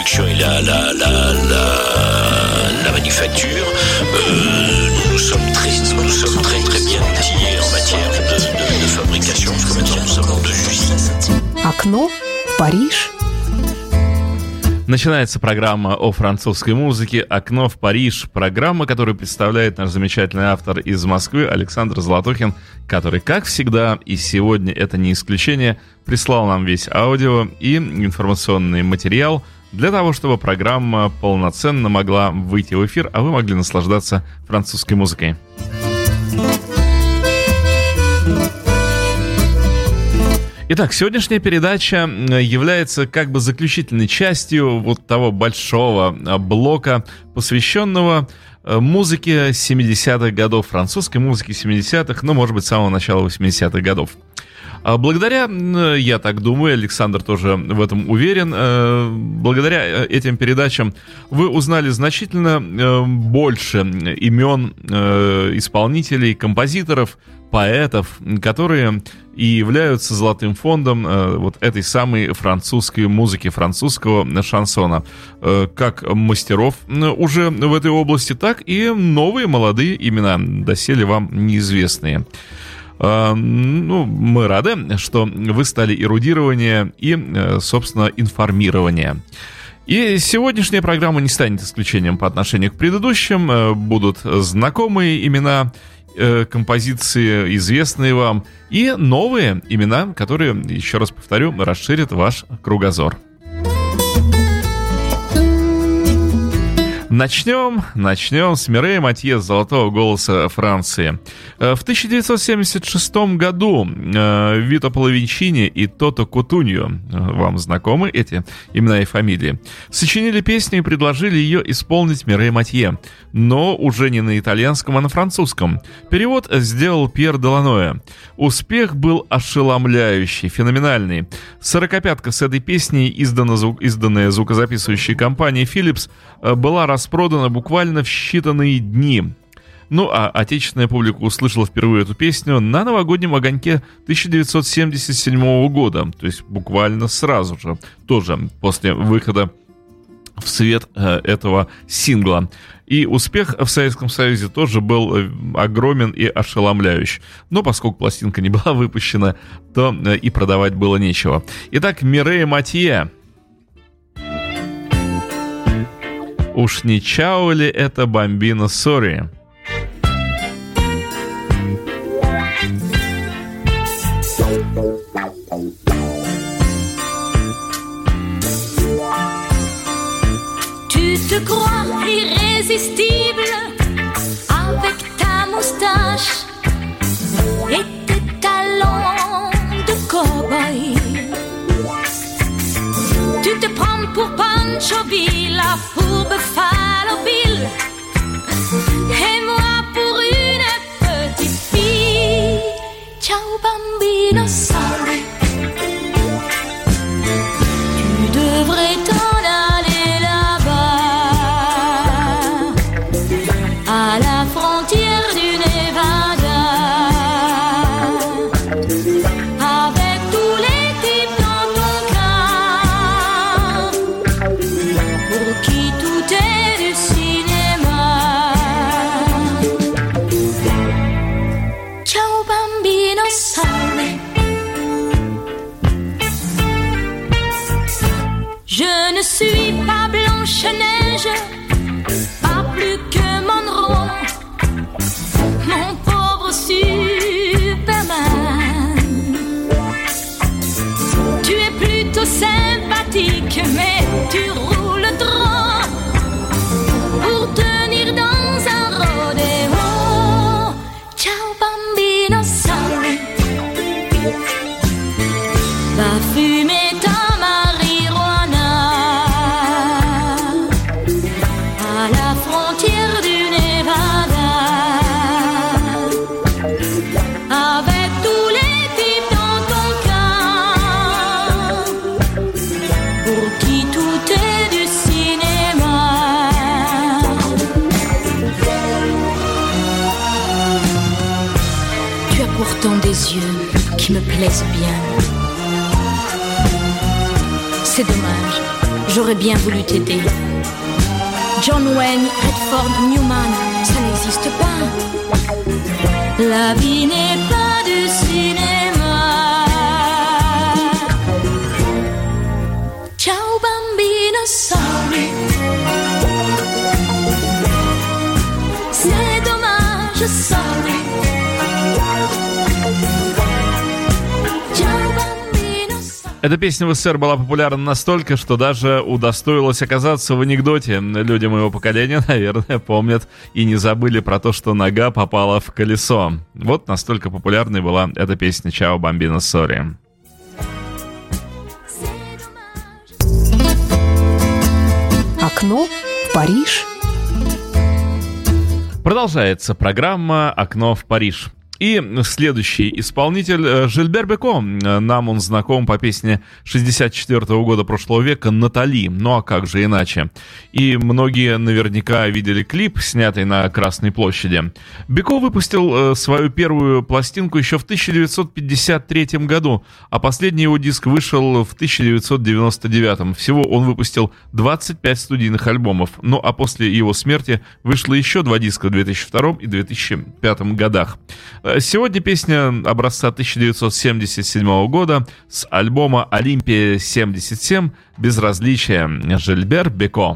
production et la manufacture, nous sommes très bien outillés en matière de fabrication, parce que maintenant nous sommes en 2 usines. Окно в Париж. Начинается программа о французской музыке «Окно в Париж». Программа, которую представляет наш замечательный автор из Москвы Александр Золотухин, который, как всегда, и сегодня это не исключение, прислал нам весь аудио и информационный материал для того, чтобы программа полноценно могла выйти в эфир, а вы могли наслаждаться французской музыкой. Итак, сегодняшняя передача является как бы заключительной частью вот того большого блока, посвященного музыке 70-х годов, французской музыке 70-х, ну, может быть, с самого начала 80-х годов. Благодаря, я так думаю, Александр тоже в этом уверен, благодаря этим передачам вы узнали значительно больше имен исполнителей, композиторов, поэтов, которые и являются золотым фондом вот этой самой французской музыки, французского шансона. Как мастеров уже в этой области, так и новые молодые имена, доселе вам неизвестные. Ну, мы рады, что вы стали эрудирование и, собственно, информирование. И сегодняшняя программа не станет исключением по отношению к предыдущим. Будут знакомые имена, композиции, известные вам, и новые имена, которые, еще раз повторю, расширят ваш кругозор. Начнем с Мирей Матье, золотого голоса Франции. В 1976 году Вито Половинчини и Тото Кутуньо, вам знакомы эти имена и фамилии, сочинили песню и предложили ее исполнить Мирей Матье, но уже не на итальянском, а на французском. Перевод сделал Пьер Деланоэ. Успех был ошеломляющий, феноменальный. 45-ка с этой песней, изданная звукозаписывающей компанией Philips, была распродана буквально в считанные дни. Ну, а отечественная публика услышала впервые эту песню на новогоднем огоньке 1977 года, то есть буквально сразу же, тоже после выхода в свет этого сингла. И успех в Советском Союзе тоже был огромен и ошеломляющий. Но поскольку пластинка не была выпущена, то и продавать было нечего. Итак, Мирей Матье. Уж не чао ли это Бамбино Сори? Tu te crois irrésistible avec ta moustache et tes talons de cow-boy. Tu te prends pour Pancho Villa, pour Buffalo Bill, et moi pour une petite fille. Ciao bambino, sorry. Tu devrais t'en aller là-bas, à la frontière du Nevada, avec tous les types dans ton cas, pour qui tout est du cinéma. Ciao bambino, sorry. Je ne suis pas Blanche-Neige, pas plus que Monroe, mon pauvre Superman. Tu es plutôt sympathique, mais tu roules droit pour tenir dans un rodéo. Ciao bambino, sorry. Va fumer ta marijuana à la frontière du Nevada, avec tous les types dans ton cas, pour qui tout est du cinéma. Tu as pourtant des yeux qui me plaisent bien. C'est dommage, j'aurais bien voulu t'aider. John Wayne, Redford, Newman, ça n'existe pas. La vie n'est pas du cinéma. Ciao bambino, sorry. C'est dommage, sorry. Эта песня в СССР была популярна настолько, что даже удостоилась оказаться в анекдоте. Люди моего поколения, наверное, помнят и не забыли про то, что нога попала в колесо. Вот настолько популярной была эта песня «Ciao Bambino Sorry». Окно в Париж. Продолжается программа «Окно в Париж». И следующий исполнитель Жильбер Беко. Нам он знаком по песне 64-го года прошлого века «Натали». Ну а как же иначе? И многие наверняка видели клип, снятый на Красной площади. Беко выпустил свою первую пластинку еще в 1953 году, а последний его диск вышел в 1999. Всего он выпустил 25 студийных альбомов. Ну а после его смерти вышло еще 2 диска в 2002 и 2005 годах. Сегодня песня образца 1977 года с альбома «Олимпия-77» «Безразличие» Жильбер Беко.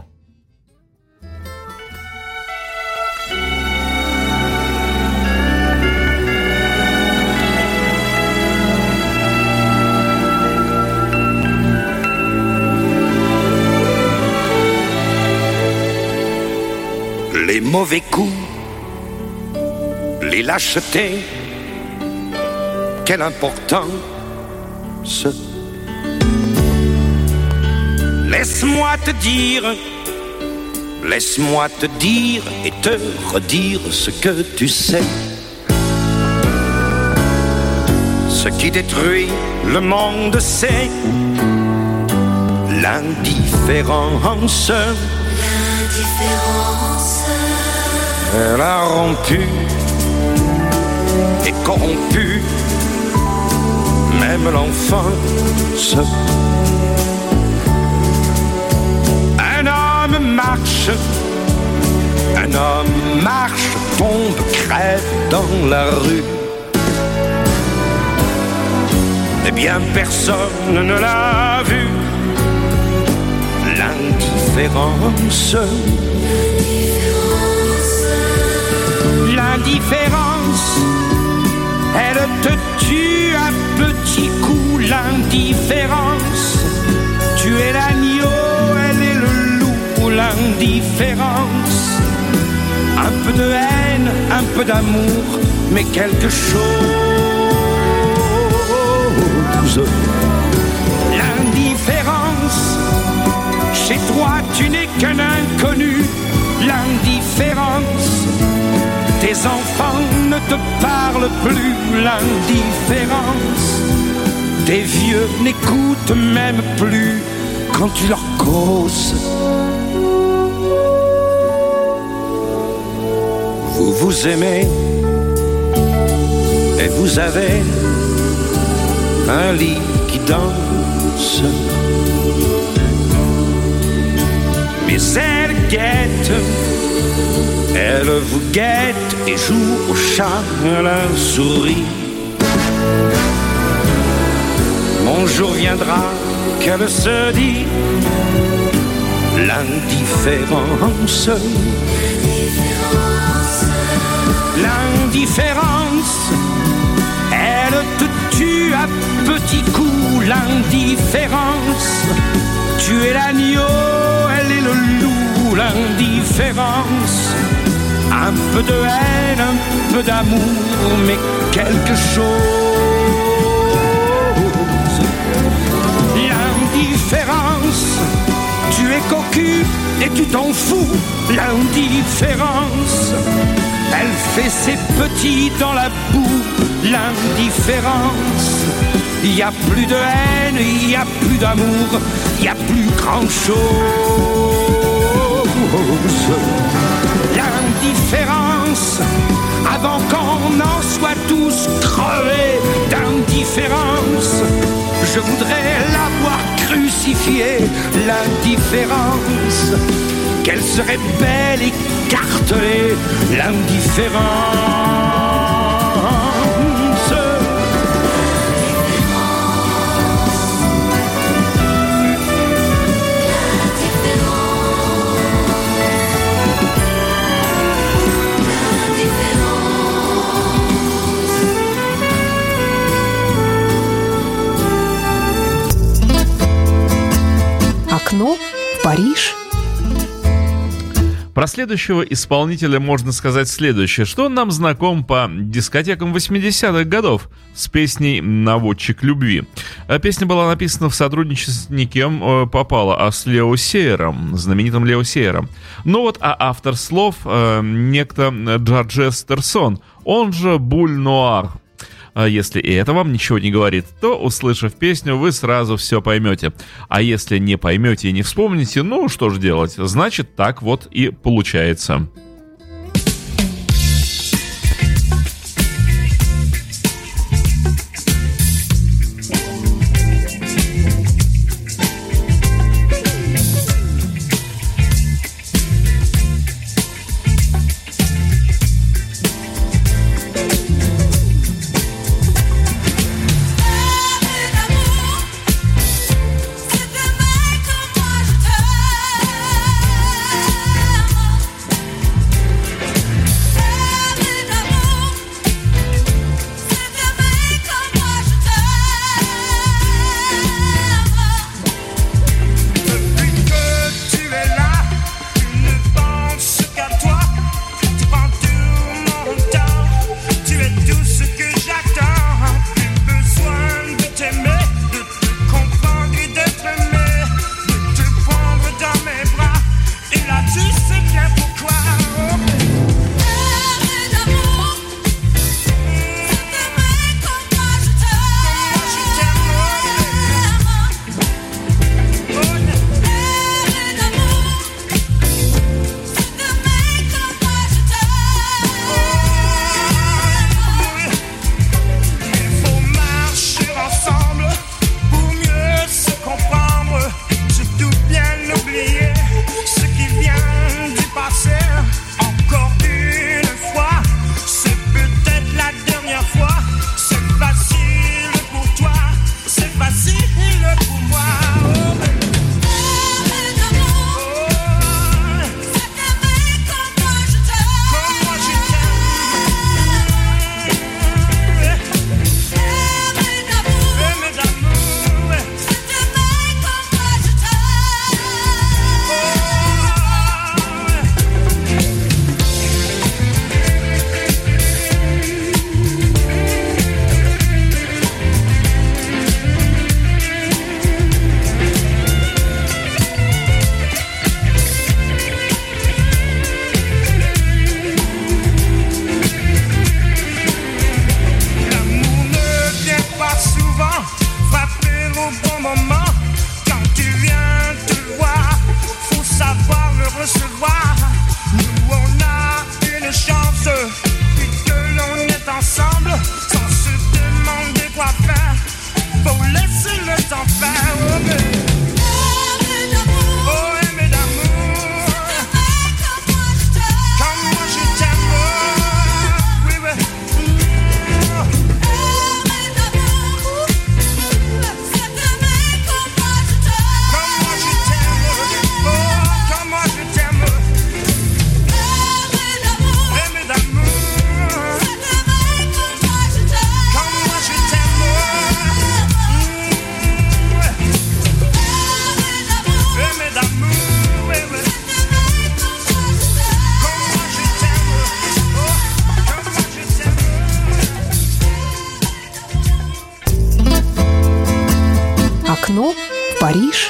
Les mauvais coups, les lâchetés, quelle importance. Laisse-moi te dire et te redire ce que tu sais. Ce qui détruit le monde, c'est l'indifférence. Elle a rompu et corrompu même l'enfance. Un homme marche, tombe, crève dans la rue. Eh bien personne ne l'a vu. L'indifférence. L'indifférence, elle te tue à petits coups. L'indifférence, tu es l'agneau, elle est le loup. L'indifférence, un peu de haine, un peu d'amour, mais quelque chose. L'indifférence, chez toi tu n'es qu'un inconnu. L'indifférence, tes enfants ne te parlent plus. L'indifférence, tes vieux n'écoutent même plus quand tu leur causes. Vous vous aimez et vous avez un lit qui danse. Mais elle guette, elle vous guette et joue au chat à la souris. Mon jour viendra qu'elle se dit l'indifférence. L'indifférence, elle te tue à petits coups. L'indifférence, tu es l'agneau, elle est le loup. L'indifférence, un peu de haine, un peu d'amour, mais quelque chose. L'indifférence, tu es cocu et tu t'en fous. L'indifférence, elle fait ses petits dans la boue. L'indifférence, il n'y a plus de haine, il n'y a plus d'amour, il n'y a plus grand chose. L'indifférence, avant qu'on en soit tous crevés d'indifférence, je voudrais l'avoir crucifiée. pacifier l'indifférence. Qu'elle serait belle écartelée, l'indifférence. Окно в Париж. Про следующего исполнителя можно сказать следующее, что он нам знаком по дискотекам 80-х годов с песней «Наводчик любви». Песня была написана в сотрудничестве с никем попала, а с Лео Сейером, знаменитым Лео Сейером. Ну вот, а автор слов некто Джорджес Терсон, он же Буль Нуар. Если и это вам ничего не говорит, то, услышав песню, вы сразу все поймете. А если не поймете и не вспомните, ну что ж делать, значит так вот и получается. Окно в Париж.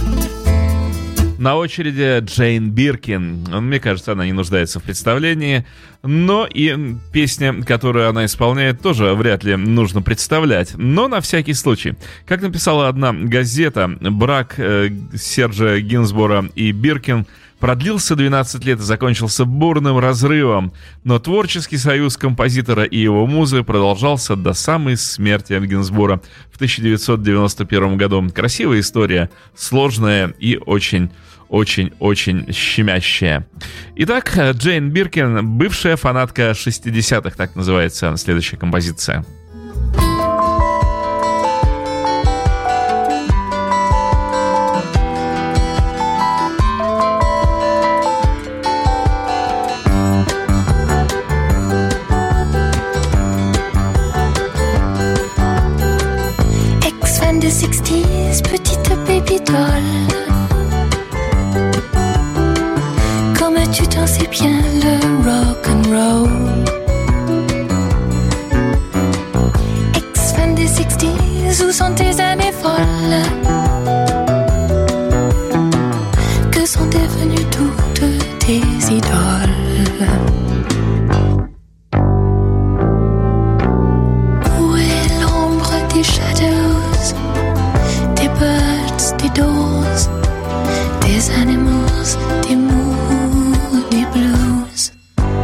На очереди Джейн Биркин. Мне кажется, она не нуждается в представлении. Но и песня, которую она исполняет, тоже вряд ли нужно представлять. Но на всякий случай. Как написала одна газета, брак Сержа Гинсбора и Биркин продлился 12 лет и закончился бурным разрывом, но творческий союз композитора и его музы продолжался до самой смерти Гинзбура в 1991 году. Красивая история, сложная и очень-очень щемящая. Итак, Джейн Биркин, бывшая фанатка 60-х, так называется следующая композиция. Ex-fan des 60s, petite baby doll. Tu t'en sais bien le rock'n'roll. Ex-fan des 60s, où sont tes années folles? Que sont devenues toutes tes idoles? Où est l'ombre des shadows, des birds, des doors, des animals, des moody blues?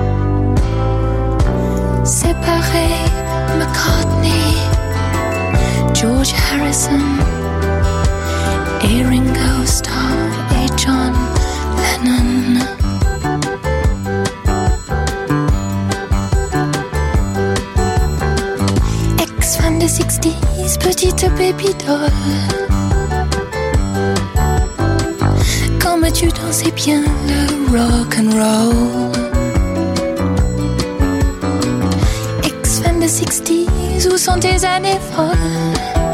Séparé, McCartney, George Harrison et Ringo Starr et John Lennon. Ex-fan des 60s, petite baby doll. Comme tu dansais bien le rock'n'roll. Ex-fan des 60s, où sont tes années folles?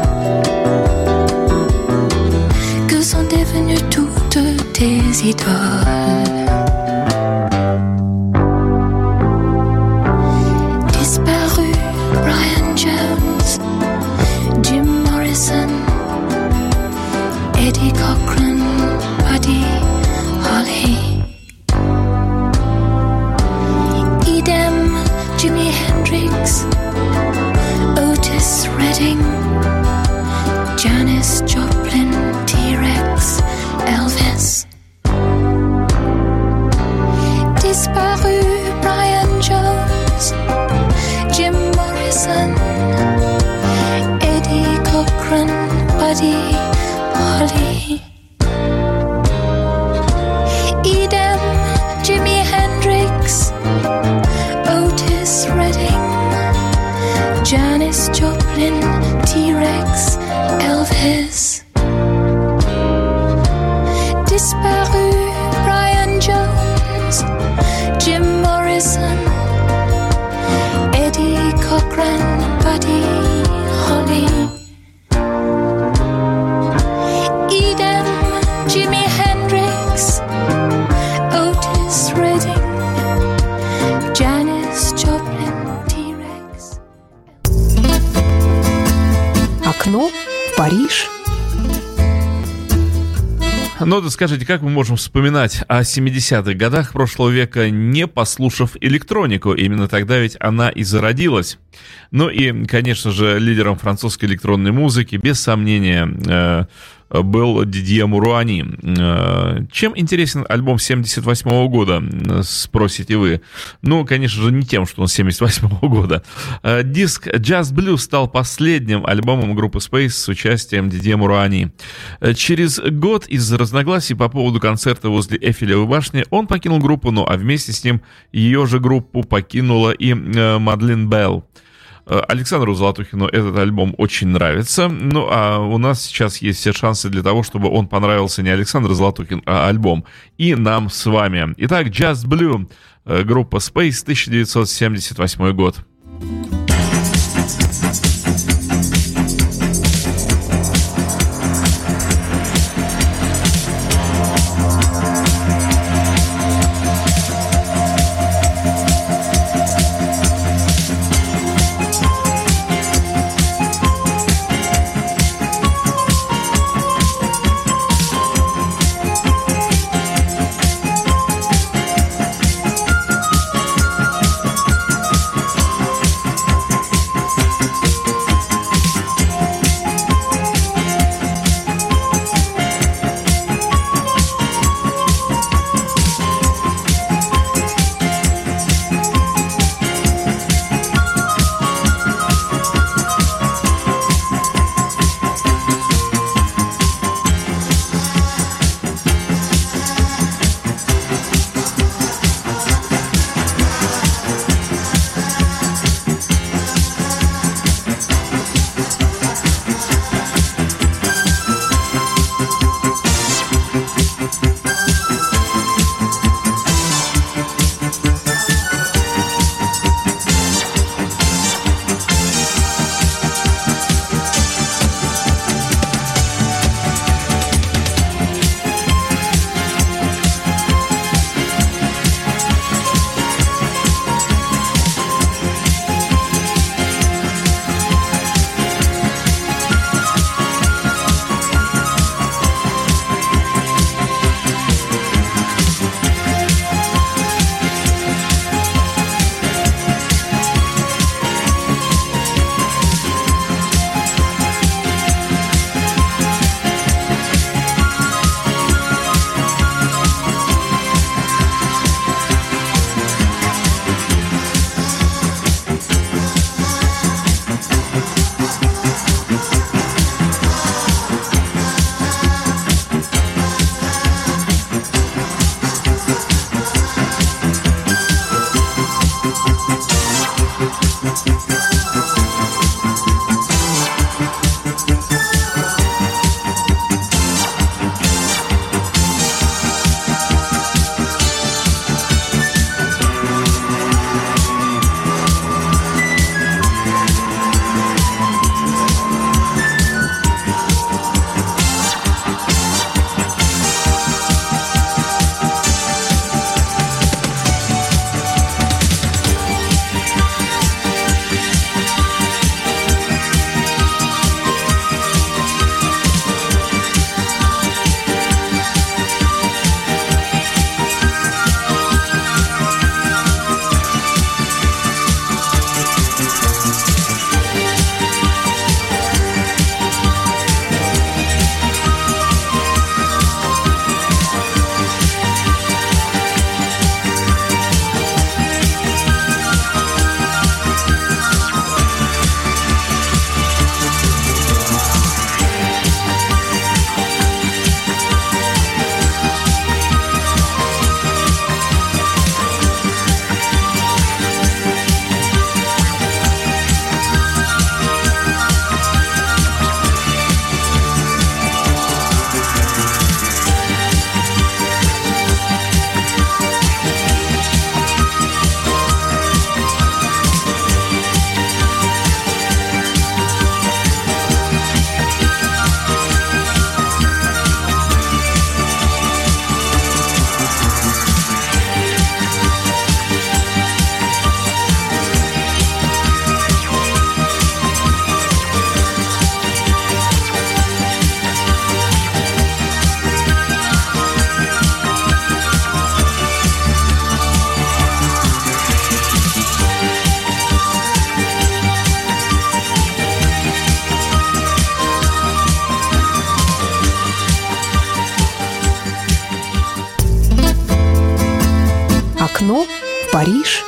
Que sont devenues toutes tes idoles? Disparu, Brian Jones, Jim Morrison, Eddie Cochran, Buddy Holly. Idem, Jimi Hendrix, Otis Redding, Janis Joplin, T-Rex, Elvis. Disparu, Brian Jones, Jim Morrison, Eddie Cochran, Buddy Holly. Idem, Jimi Hendrix, Otis Redding, Janis Joplin, T-Rex, Elvis. Disparu, Brian Jones, Jim Morrison, Eddie Cochran, Buddy Holly. Idem, Jimi Hendrix, Otis Redding, Janis Joplin, T-Rex. Окно в Париж. Ну, да скажите, как мы можем вспоминать о 70-х годах прошлого века, не послушав электронику? Именно тогда ведь она и зародилась. Ну и, конечно же, лидером французской электронной музыки, без сомнения, был Дидье Муруани. Чем интересен альбом 78 года, спросите вы? Ну, конечно же, не тем, что он 78 года. Диск Just Blue стал последним альбомом группы Space с участием Дидье Муруани. Через год из-за разногласий по поводу концерта возле Эйфелевой башни он покинул группу, ну а вместе с ним ее же группу покинула и Мадлен Белл. Александру Золотухину этот альбом очень нравится. Ну, а у нас сейчас есть все шансы для того, чтобы он понравился не Александр Золотухин, а альбом. И нам с вами. Итак, Just Blue, группа Space, 1978 год. Окно в Париж.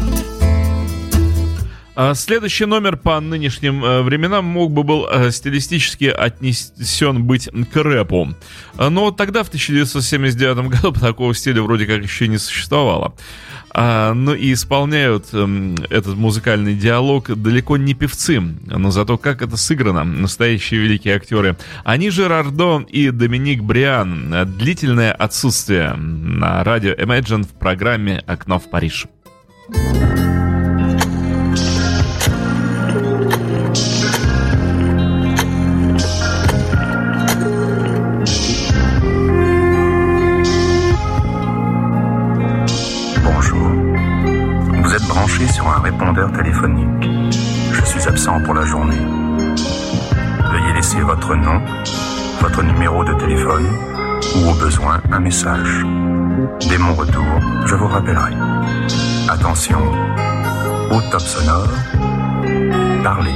Следующий номер по нынешним временам мог бы был стилистически отнесен быть к рэпу. Но тогда, в 1979 году, такого стиля вроде как еще не существовало. Ну и исполняют этот музыкальный диалог далеко не певцы, но зато как это сыграно, настоящие великие актеры. Они же Рардо и Доминик Бриан. Длительное отсутствие на радио Imagine в программе «Окно в Париж». Sur un répondeur téléphonique. Je suis absent pour la journée. Veuillez laisser votre nom, votre numéro de téléphone ou au besoin un message. Dès mon retour, je vous rappellerai. Attention, au top sonore, parlez.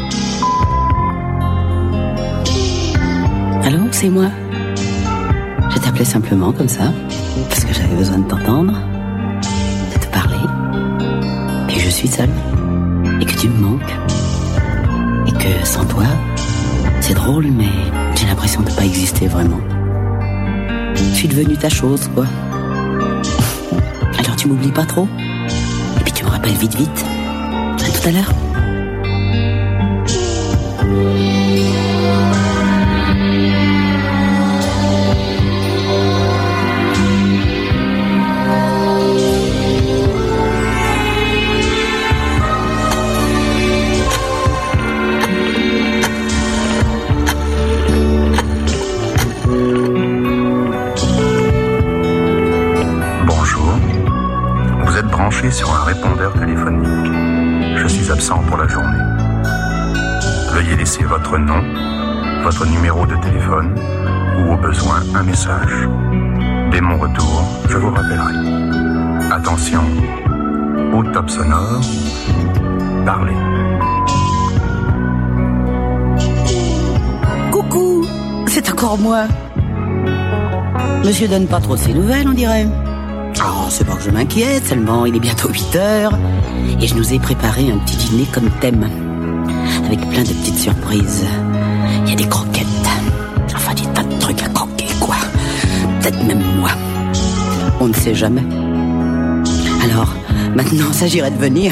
Allô, c'est moi. Je t'appelais simplement comme ça, parce que j'avais besoin de t'entendre, de te parler. Et je suis seule, et que tu me manques, et que sans toi, c'est drôle, mais j'ai l'impression de pas exister vraiment. Je suis devenue ta chose, quoi. Alors tu m'oublies pas trop, et puis tu me rappelles vite. À tout à l'heure. Sur un répondeur téléphonique. Je suis absent pour la journée. Veuillez laisser votre nom, votre numéro de téléphone ou au besoin un message. Dès mon retour, je vous rappellerai. Attention, au top sonore, parlez. Coucou, c'est encore moi. Monsieur donne pas trop de ses nouvelles, on dirait. Oh, c'est pas que je m'inquiète, seulement il est bientôt 8h et je nous ai préparé un petit dîner comme thème, avec plein de petites surprises. Il y a des croquettes, enfin des tas de trucs à croquer, quoi. Peut-être même moi. On ne sait jamais. Alors, maintenant, s'agirait de venir.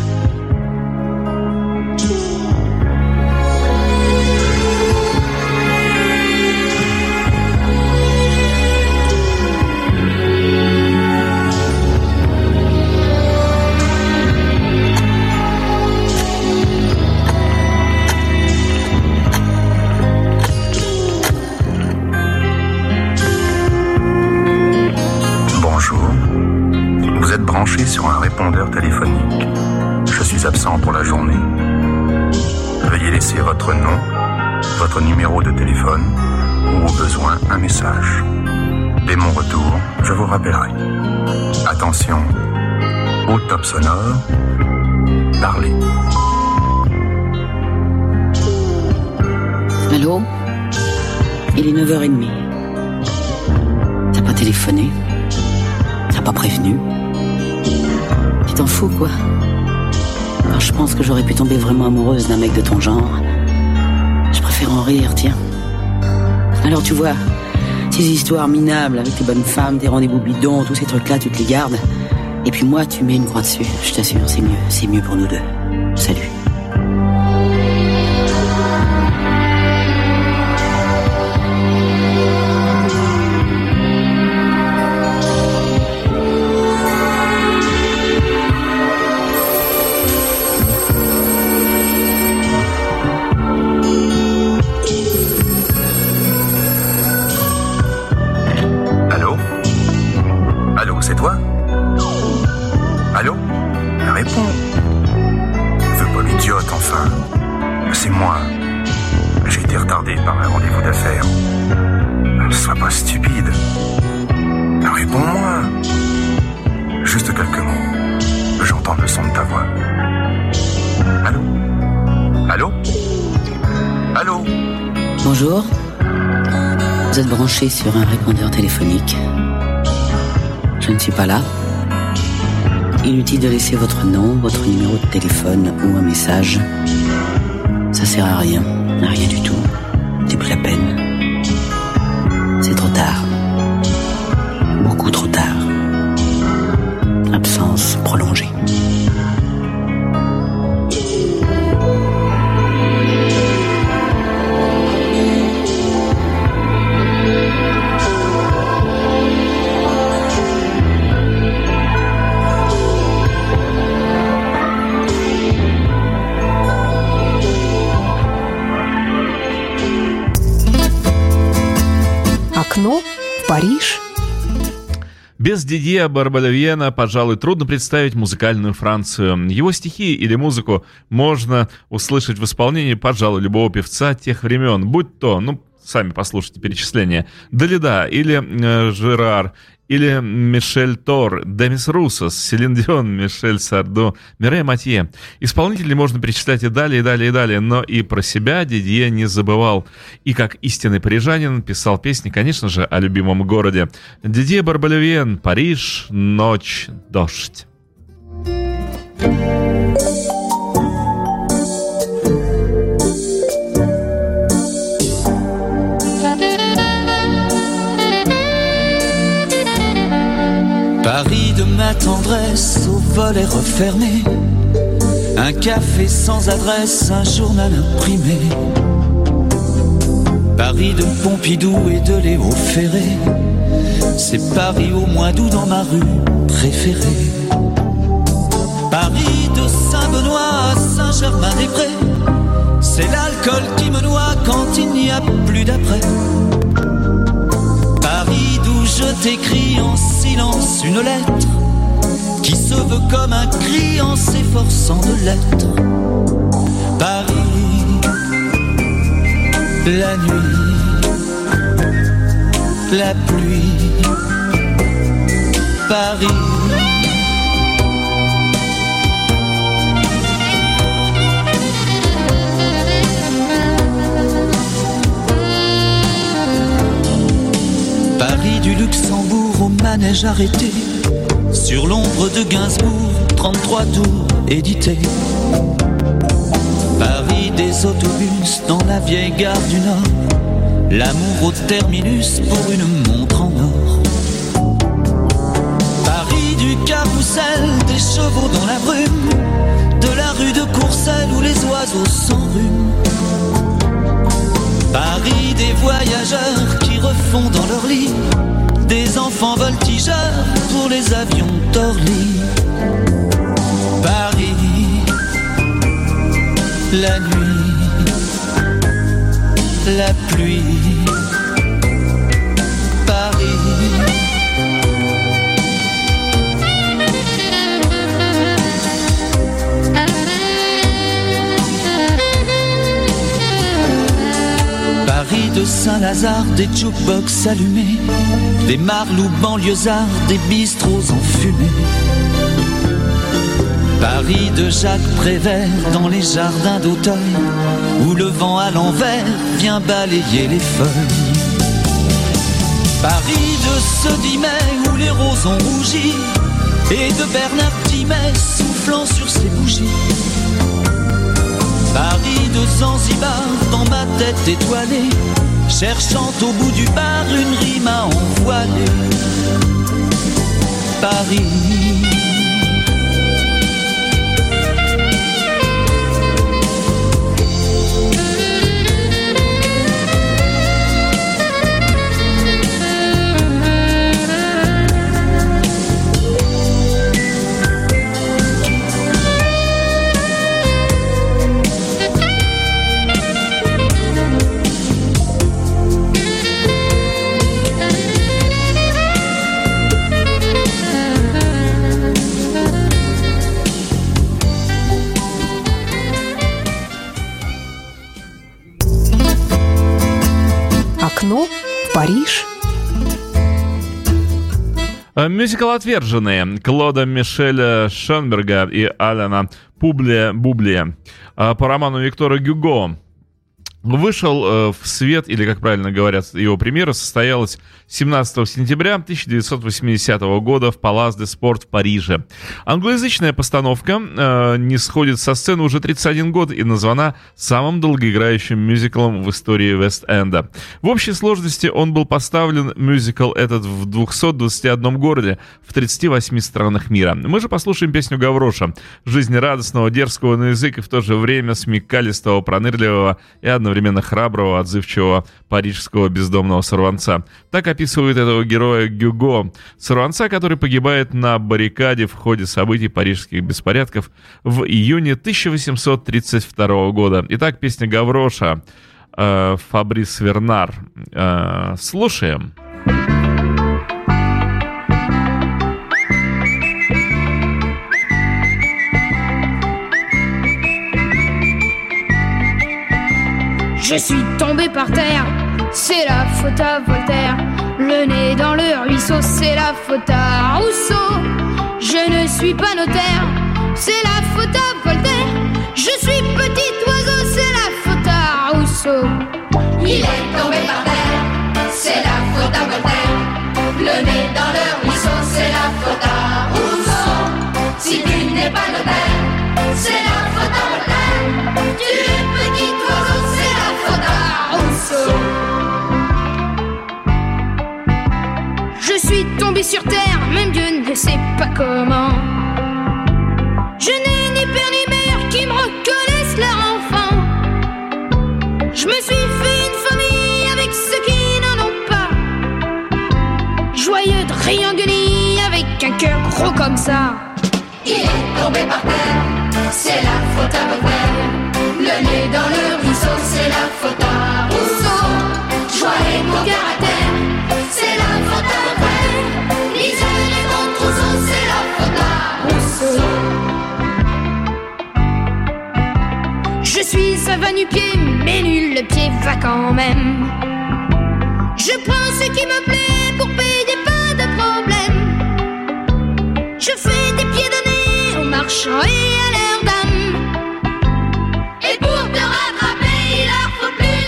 Sur un répondeur téléphonique. Je suis absent pour la journée. Veuillez laisser votre nom, votre numéro de téléphone ou au besoin un message. Dès mon retour, je vous rappellerai. Attention, au top sonore, parlez. Allô ? Il est 9h30. T'as pas téléphoné ? T'as pas prévenu ? Tu t'en fous, quoi. Alors, je pense que j'aurais pu tomber vraiment amoureuse d'un mec de ton genre. Je préfère en rire, tiens. Alors, tu vois, ces histoires minables avec tes bonnes femmes, tes rendez-vous bidons, tous ces trucs-là, tu te les gardes. Et puis moi, tu mets une croix dessus. Je t'assure, c'est mieux pour nous deux. Salut. Bonjour, vous êtes branché sur un répondeur téléphonique. Je ne suis pas là. Inutile de laisser votre nom, votre numéro de téléphone ou un message. Ça sert à rien du tout. C'est plus la peine. C'est trop tard. Beaucoup trop tard. Absence prolongée. Окно в Париж. Без Дидье Барбалевьена, пожалуй, трудно представить музыкальную Францию. Его стихи или музыку можно услышать в исполнении, пожалуй, любого певца тех времен, будь то, сами послушайте перечисления, Далида или Жерар, или Мишель Тор, Демис Руссос, Селин Дион, Мишель Сардо, Мирей Матье. Исполнителей можно перечислять и далее, и далее, и далее, но и про себя Дидье не забывал. И как истинный парижанин писал песни, конечно же, о любимом городе. Дидье Барбалевьен, Париж, ночь, дождь. Paris de ma tendresse au volet refermé, un café sans adresse, un journal imprimé. Paris de Pompidou et de Léo Ferré, c'est Paris au mois d'août dans ma rue préférée. Paris de Saint-Benoît à Saint-Germain-des-Prés, c'est l'alcool qui me noie quand il n'y a plus d'après. Paris d'où je t'écris en silence une lettre qui se veut comme un cri en s'efforçant de l'être. Paris, la nuit, la pluie. Paris, Paris du Luxembourg au manège arrêté, sur l'ombre de Gainsbourg, 33 tours édité. Paris des autobus dans la vieille gare du Nord, l'amour au terminus pour une montre en or. Paris du carrousel, des chevaux dans la brume, de la rue de Courcelles où les oiseaux s'enrhument. Paris des voyageurs qui refont dans leur lit des enfants voltigeurs pour les avions d'Orly. Paris, la nuit, la pluie. Paris, Paris de Saint-Lazare, des jukebox allumés, des marlous banlieusards, des bistrots enfumés. Paris de Jacques Prévert dans les jardins d'Auteuil, où le vent à l'envers vient balayer les feuilles. Paris de ce 10 mai où les roses ont rougi, et de Bernard Dimet soufflant sur ses bougies. Paris de Zanzibar dans ma tête étoilée, cherchant au bout du bar une rime à envoiler. Paris, Окно в Париж. Мюзикл «Отверженные» Клода Мишеля Шонберга и Алена Бублия по роману Виктора Гюго. вышел в свет, или, как правильно говорят, его премьера состоялась 17 сентября 1980 года в Палас де Спорт в Париже. Англоязычная постановка не сходит со сцены уже 31 год и названа самым долгоиграющим мюзиклом в истории Вест-Энда. В общей сложности он был поставлен, мюзикл этот, в 221 городе в 38 странах мира. Мы же послушаем песню Гавроша, жизнерадостного, дерзкого на язык и в то же время смекалистого, пронырливого и одновременно храброго, отзывчивого парижского бездомного сорванца. Так описывает этого героя Гюго, сорванца, который погибает на баррикаде в ходе событий парижских беспорядков в июне 1832 года. Итак, песня Гавроша, Фабрис Вернар. Слушаем. Je suis tombé par terre, c'est la faute à Voltaire. Le nez dans le ruisseau, c'est la faute à Rousseau. Je ne suis pas notaire, c'est la faute à Voltaire. Je suis petit oiseau, c'est la faute à Rousseau. Il est tombé par terre, c'est la faute à Voltaire. Le nez dans le ruisseau, c'est la faute à Rousseau. Si tu n'es pas notaire, c'est la faute à Voltaire. Tu es petit oiseau, c'est la faute à Rousseau. Je suis tombé sur terre, même Dieu ne sait pas comment. Je n'ai ni père ni mère qui me reconnaissent leur enfant. Je me suis fait une famille avec ceux qui n'en ont pas. Joyeux de Rianguni avec un cœur gros comme ça. Il est tombé par terre, c'est la faute à Voltaire. Le nez dans le ruisseau, c'est la faute à Rousseau. Joie et mon caractère, c'est la faute à Voltaire. Lisez les bons trousseaux, c'est la faute à Rousseau. Je suis un va-nu-pied, mais nul le pied va quand même. Je prends ce qui me plaît pour payer pas de problème. Je fais des pieds de nez aux marchands et à leurs dames. Et pour te rattraper, il leur faut plus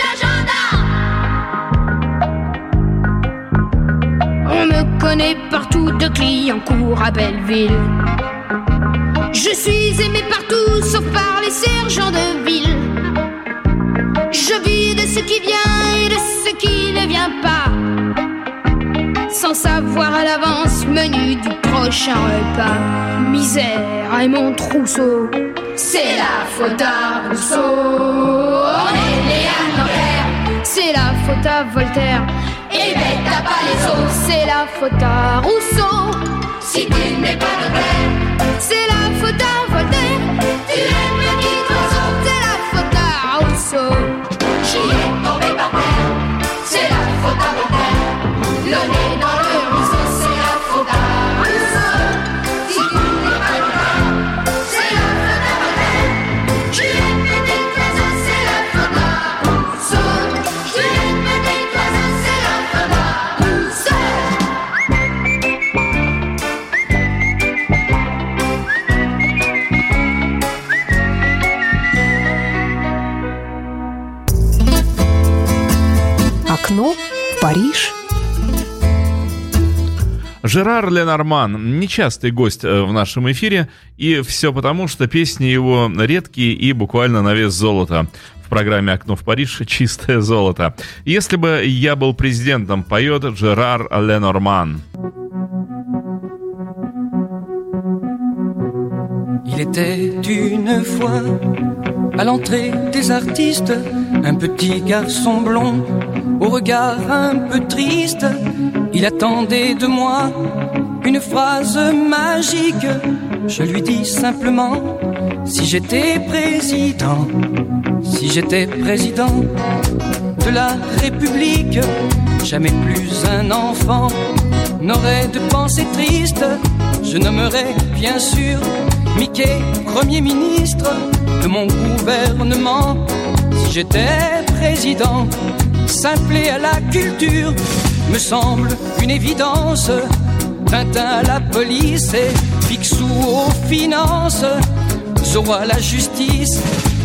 l'agenda. On me connaît partout de Clignancourt à Belleville. Je suis aimé partout sauf par les sergents de ville. Je vis de ce qui vient et de ce qui ne vient pas, sans savoir à l'avance menu du prochain repas. Misère et mon trousseau, c'est la faute à Rousseau. On est né à Nanterre, c'est la faute à Voltaire. Et ben t'as pas les os, c'est la faute à Rousseau. Si tu n'es pas notaire, c'est la faute à Voltaire. Tu es petit oiseau, c'est la faute à Rousseau. J'y ai tombé par terre, c'est la faute à Voltaire. Le nez dans le ruisseau, c'est la faute à Rousseau. Si tu n'es pas notaire, c'est la faute à Voltaire. Tu es petit oiseau, c'est la faute à Rousseau. Tu es petit oiseau, c'est la faute à Rousseau. Окно в Париж. Жерар Ленорман – нечастый гость в нашем эфире, и все потому, что песни его редкие и буквально на вес золота. В программе «Окно в Париж» чистое золото. «Если бы я был президентом», поет Жерар Ленорман. Il était une fois à l'entrée des artistes un petit garçon blond au regard un peu triste. Il attendait de moi une phrase magique. Je lui dis simplement: si j'étais président, si j'étais président de la République, jamais plus un enfant n'aurait de pensée triste. Je nommerais bien sûr Mickey Premier ministre de mon gouvernement. Si j'étais président, simple et à la culture me semble une évidence. Tintin à la police et Picsou aux finances, Zorro à la justice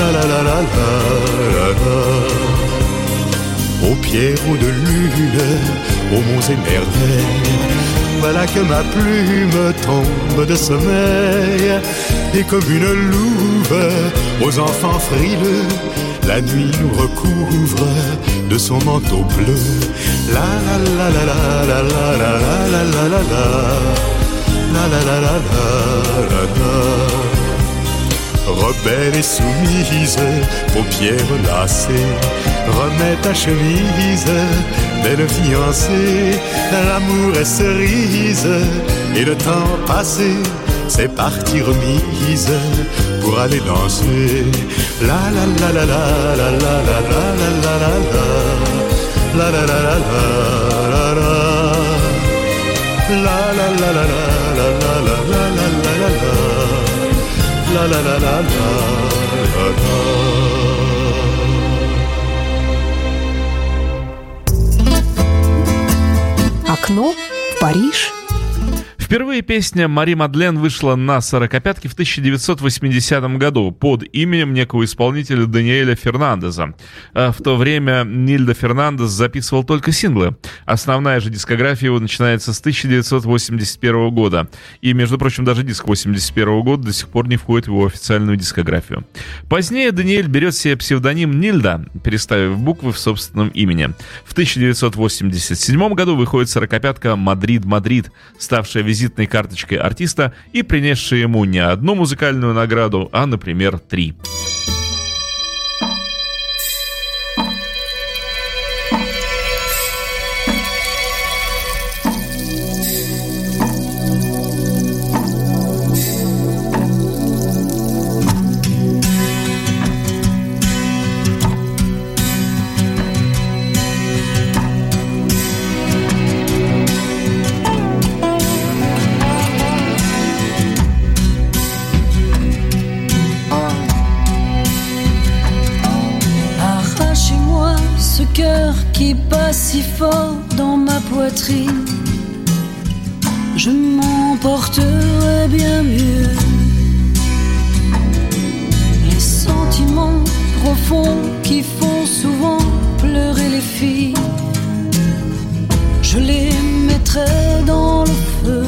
la la la la la la. Aux pierrots de lune, aux monts et merveilles, voilà que ma plume tombe de sommeil. Et comme une louve aux enfants frileux, la nuit nous recouvre de son manteau bleu. La la la la la la la la la la la la la la la la la. Rebelle et soumise, paupières lassées, remets ta chemise, belle fiancée. L'amour est cerise et le temps passé, c'est partie remise pour aller danser. La la la la la la la la la la la la la la la la la la. La la la la la la la la la la la la la. La la la la la la. Окно в Париж. Впервые песня «Мари Мадлен» вышла на сорокопятке в 1980 году под именем некого исполнителя Даниэля Фернандеза. В то время Нильда Фернандес записывал только синглы. Основная же дискография его начинается с 1981 года. И, между прочим, даже диск 1981 года до сих пор не входит в его официальную дискографию. Позднее Даниэль берет себе псевдоним Нильда, переставив буквы в собственном имени. В 1987 году выходит сорокопятка «Мадрид, Мадрид», ставшая визитной карточкой артиста и принесшая ему не одну музыкальную награду, а, например, 3. Qui bat si fort dans ma poitrine, je m'emporterais bien mieux. Les sentiments profonds qui font souvent pleurer les filles, je les mettrais dans le feu.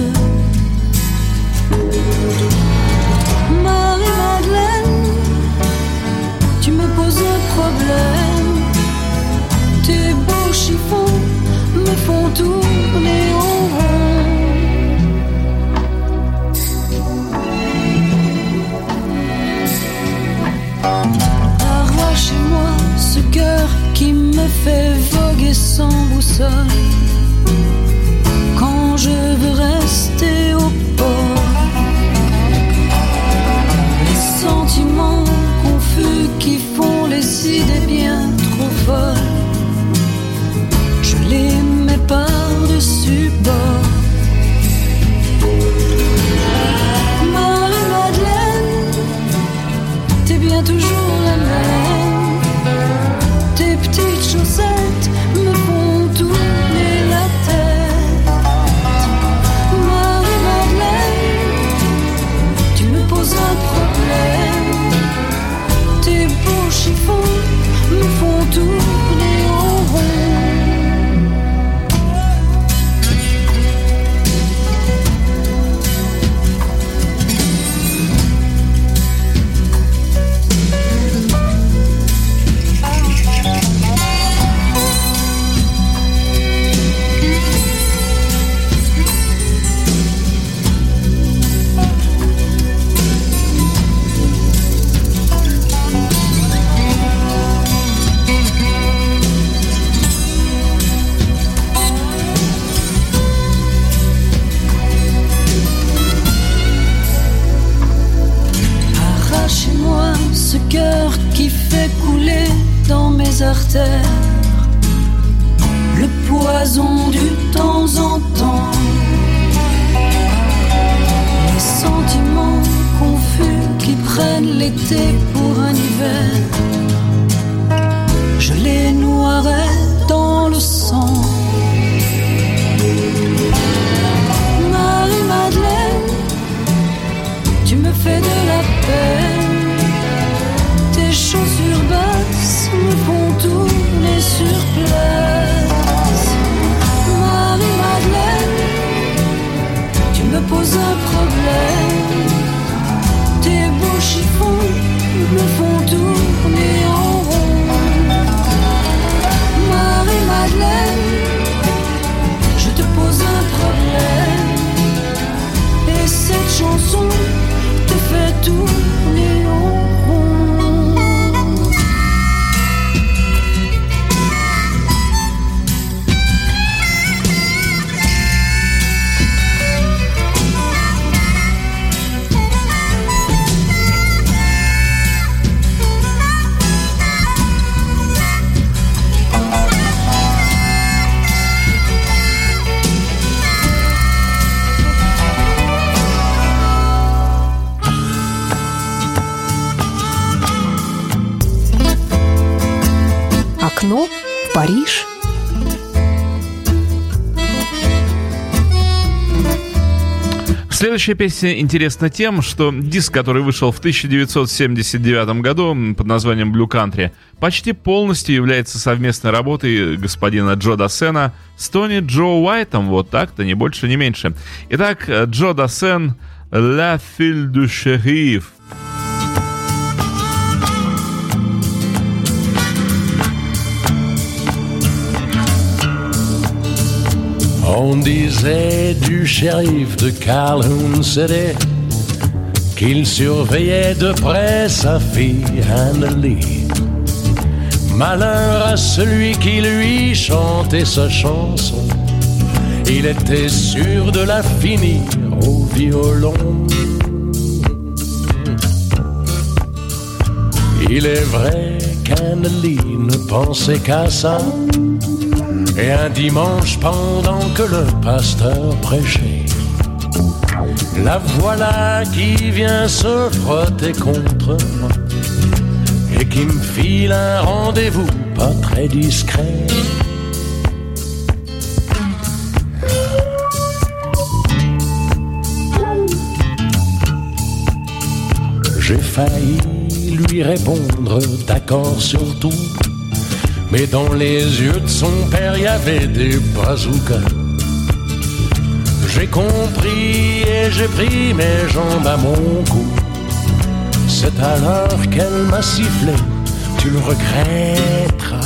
Marie-Madeleine, tu me poses un problème. Tes beaux chiffons me font tourner en rond. Arrachez-moi ce cœur qui me fait voguer sans boussole quand je veux rester au port. Les sentiments confus qui font les idées bien trop folles, je les mets par-dessus bord. Marie-Madeleine, t'es bien toujours la même. Tes petites chaussettes me font tourner la tête. Marie-Madeleine, tu me poses un problème. Tes beaux chiffons me font tourner en rond. Artères, le poison du temps en temps, les sentiments confus qui prennent l'été pour un hiver, je les noierai dans le sang. Marie-Madeleine, tu me fais de la peine, tes Окно в Париж. Следующая песня интересна тем, что диск, который вышел в 1979 году под названием Blue Country, почти полностью является совместной работой господина Джо Дассена с Тони Джо Уайтом, вот так-то, ни больше, ни меньше. Итак, Джо Дассен, La Fille du Shérif. On disait du shérif de Calhoun City qu'il surveillait de près sa fille Annalie. Malheur à celui qui lui chantait sa chanson, il était sûr de la finir au violon. Il est vrai qu'Annalie ne pensait qu'à ça. Et un dimanche, pendant que le pasteur prêchait, la voilà qui vient se frotter contre moi et qui me file un rendez-vous pas très discret. J'ai failli lui répondre d'accord sur tout, mais dans les yeux de son père, il y avait des bazookas. J'ai compris et j'ai pris mes jambes à mon cou. C'est alors qu'elle m'a sifflé, tu le regretteras.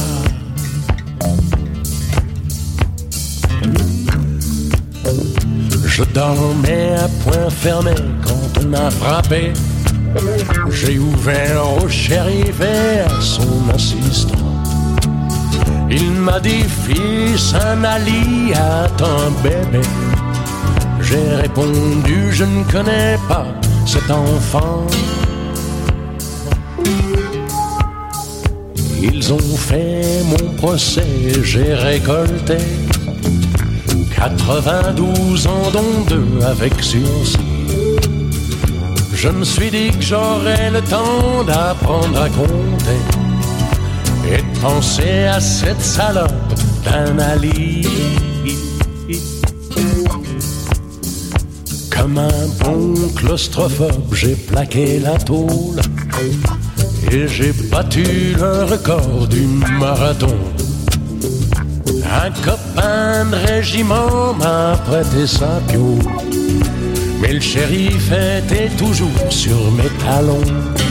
Je dormais à point fermé quand on a frappé. J'ai ouvert au shérif et à son assistant. Il m'a dit, fils, Annalie a un bébé. J'ai répondu, je ne connais pas cet enfant. Ils ont fait mon procès, j'ai récolté 92 ans, dont 2 avec sursis. Je me suis dit que j'aurais le temps d'apprendre à compter et de penser à cette salope d'Annalie. Comme un bon claustrophobe, j'ai plaqué la tôle et j'ai battu le record du marathon. Un copain de régiment m'a prêté sa piole, mais le shérif était toujours sur mes talons.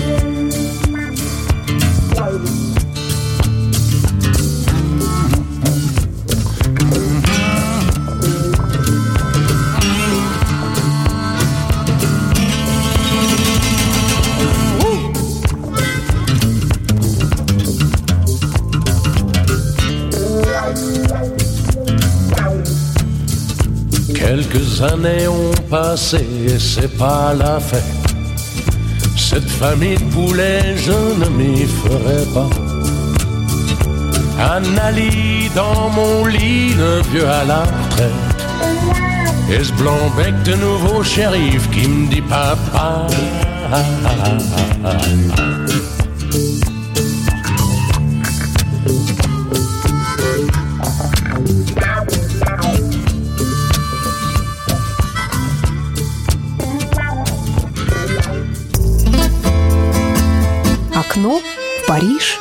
Quelques années ont passé et c'est pas la fête. Cette famille de poulets, je ne m'y ferai pas. Annalie dans mon lit, le vieux à la retraite, et ce blanc-bec de nouveau shérif qui me dit papa. Окно в Париж.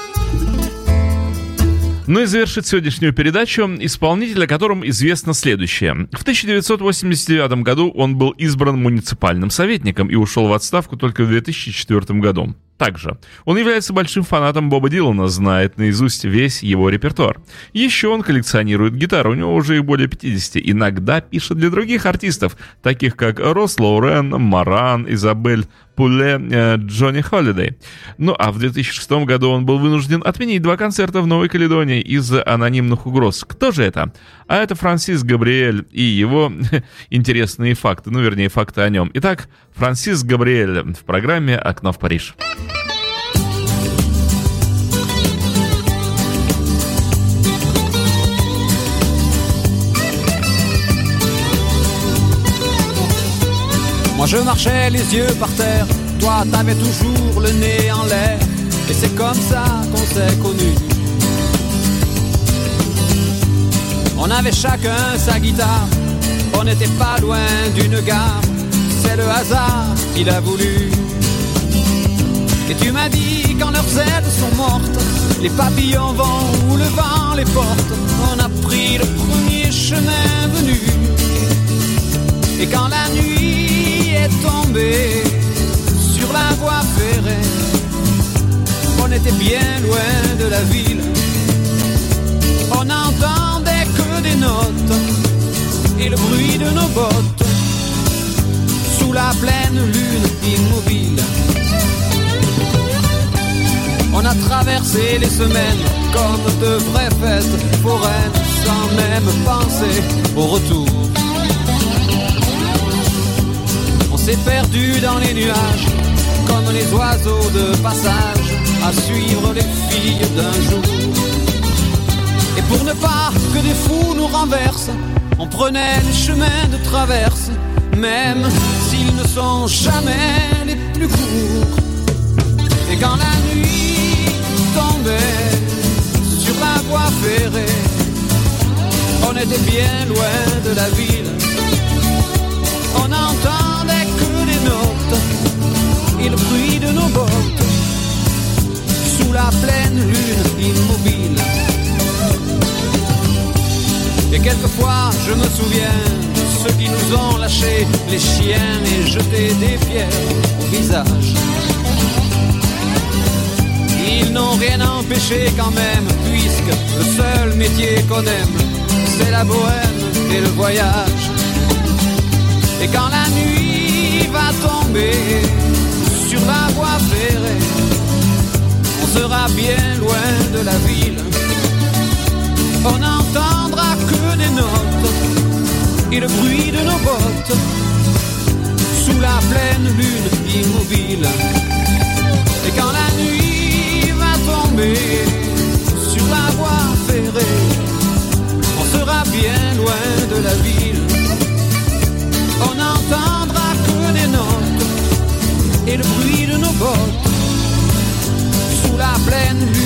Ну и завершит сегодняшнюю передачу исполнитель, о котором известно следующее. В 1989 году он был избран муниципальным советником и ушел в отставку только в 2004 году. Также он является большим фанатом Боба Дилана, знает наизусть весь его репертуар. Еще он коллекционирует гитары, у него уже их более 50, иногда пишет для других артистов, таких как Росс Лоурен, Маран, Изабель Пуле, Джонни Холидей. Ну а в 2006 году он был вынужден отменить 2 концерта в Новой Каледонии из-за анонимных угроз. Кто же это? А это Франсис Габриэль и его интересные факты, ну вернее факты о нем. Итак, Франсис Габриэль в программе «Окно в Париж». Moi je marchais les yeux par terre, toi t'avais toujours le nez en l'air, et c'est comme ça qu'on s'est connus. On avait chacun sa guitare, on n'était pas loin d'une gare. C'est le hasard qui l'a voulu. Et tu m'as dit quand leurs ailes sont mortes, les papillons vont où le vent les porte. On a pris le premier chemin venu. Et quand la nuit est tombée sur la voie ferrée, on était bien loin de la ville. On n'entendait que des notes et le bruit de nos bottes sous la pleine lune immobile. On a traversé les semaines comme de vraies fêtes foraines, sans même penser au retour. On s'est perdu dans les nuages comme les oiseaux de passage à suivre les filles d'un jour. Et pour ne pas que des fous nous renversent, on prenait les chemins de traverse, même s'ils ne sont jamais les plus courts. Et quand la nuit tombait sur la voie ferrée, on était bien loin de la ville. On n'entendait que des notes et le bruit de nos bottes sous la pleine lune immobile. Et quelquefois je me souviens de ceux qui nous ont lâchés les chiens et jeté des pierres au visage. Ils n'ont rien empêché quand même, puisque le seul métier qu'on aime, c'est la bohème et le voyage. Et quand la nuit va tomber sur la voie ferrée, on sera bien loin de la ville. On n'entendra que des notes et le bruit de nos bottes sous la pleine lune immobile. Et quand la nuit va tomber sur la voie ferrée, on sera bien loin de la ville. On n'entendra que des notes et le bruit de nos bottes sous la pleine lune